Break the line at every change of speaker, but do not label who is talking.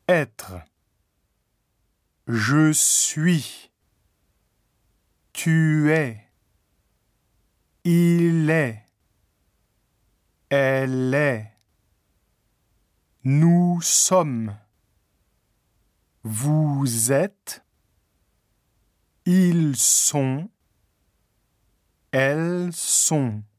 être. Je suis. Tu es. Il est. Elle est. Nous sommes. Vous êtes. Ils sont. Elles sont.